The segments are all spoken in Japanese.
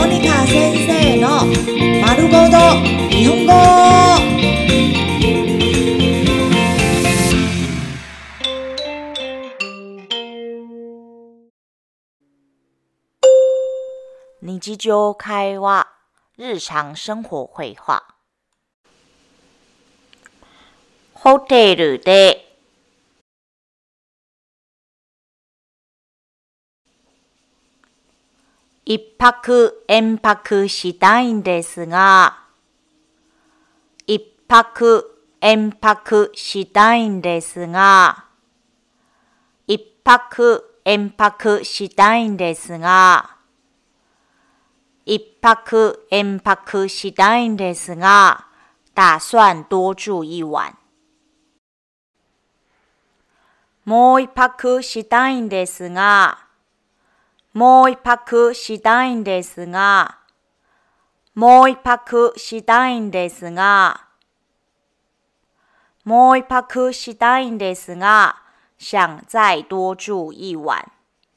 モニカ先生の丸ごと日本語。日常会話、日常生活会話。ホテルで一泊延泊したいんですが、一泊延泊したいんですが、一泊延泊したいんですが、一泊延泊したいんですが、打算多住一晚。もう一泊したいんですが、もう一泊したいんですが、もう一泊したいんですが、もう一泊したいんですが、想再多住一晚。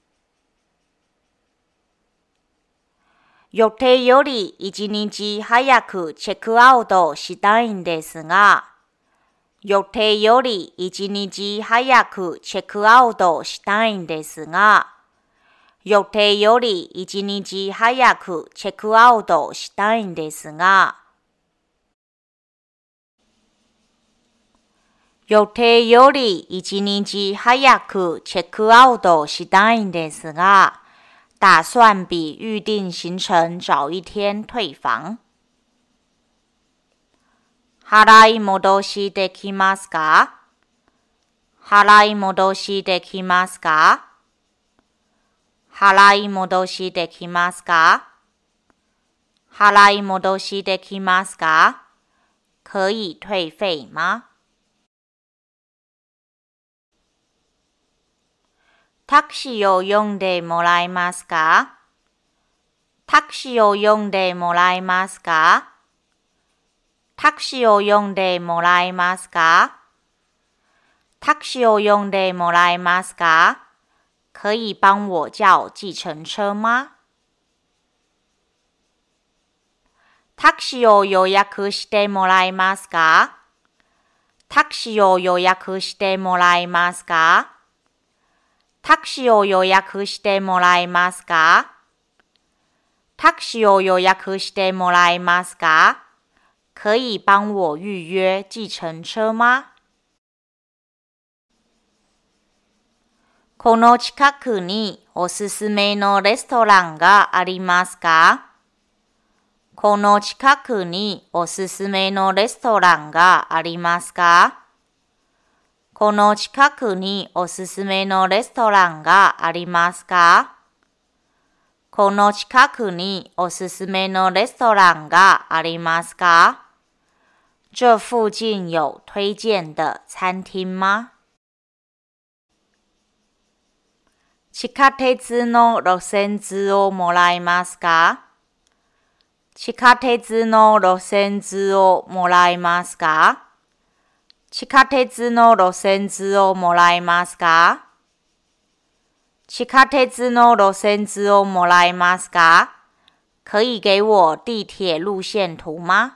予定より一日早くチェックアウトしたいんですが、予定より一日早くチェックアウトしたいんですが、予定より一日早くチェックアウトしたいんですが、予定より一日早くチェックアウトしたいんですが、打算比预定行程早一天退房。払い戻しできますか？払い戻しできますか？払い戻しできますか？払い戻しできますか？可以退费吗？タクシーを呼んでもらえますか？タクシーを呼んでもらえますか？タクシーを呼んでもらえますか？タクシーを呼んでもらえますか？可以帮我叫计程車吗？タクシーを予約してもらえますか？タクシーを予約してもらえますか？タクシーを予約してもらえますか？タクシーを予約してもらえますか？可以帮我预约计程車吗？この近くにおすすめのレストランがありますか？この近くにおすすめのレストランがありますか？この近くにおすすめのレストランがありますか？この近くにおすすめのレストランがありますか？这附近有推荐的餐厅吗？地下鉄の路線図をもらえますか？地下鉄の路線図をもらえますか？地下鉄の路線図をもらえますか？地下鉄の路線図をもらえますか？可以给我地铁路线图吗？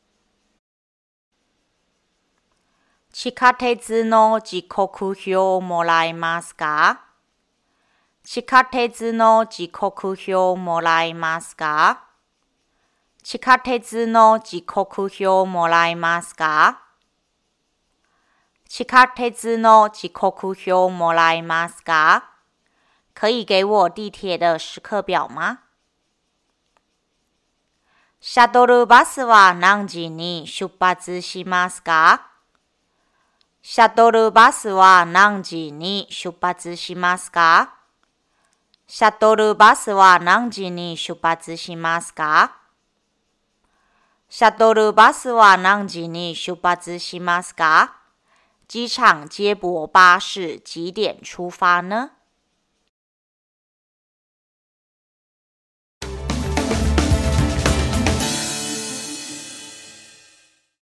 地下鉄の時刻表をもらえますか？地下鉄の時刻表をもらえますか？地下鉄の時刻表をもらえますか？地下鉄の時刻表をもらえますか？可以给我地铁的时刻表吗？シャトルバスは何時に出発しますか？シャトルバスは何時に出発しますか？シャトルバスは何時に出発しますか？シャトルバスは何時に出発しますか？机场接驳巴士几点出发呢？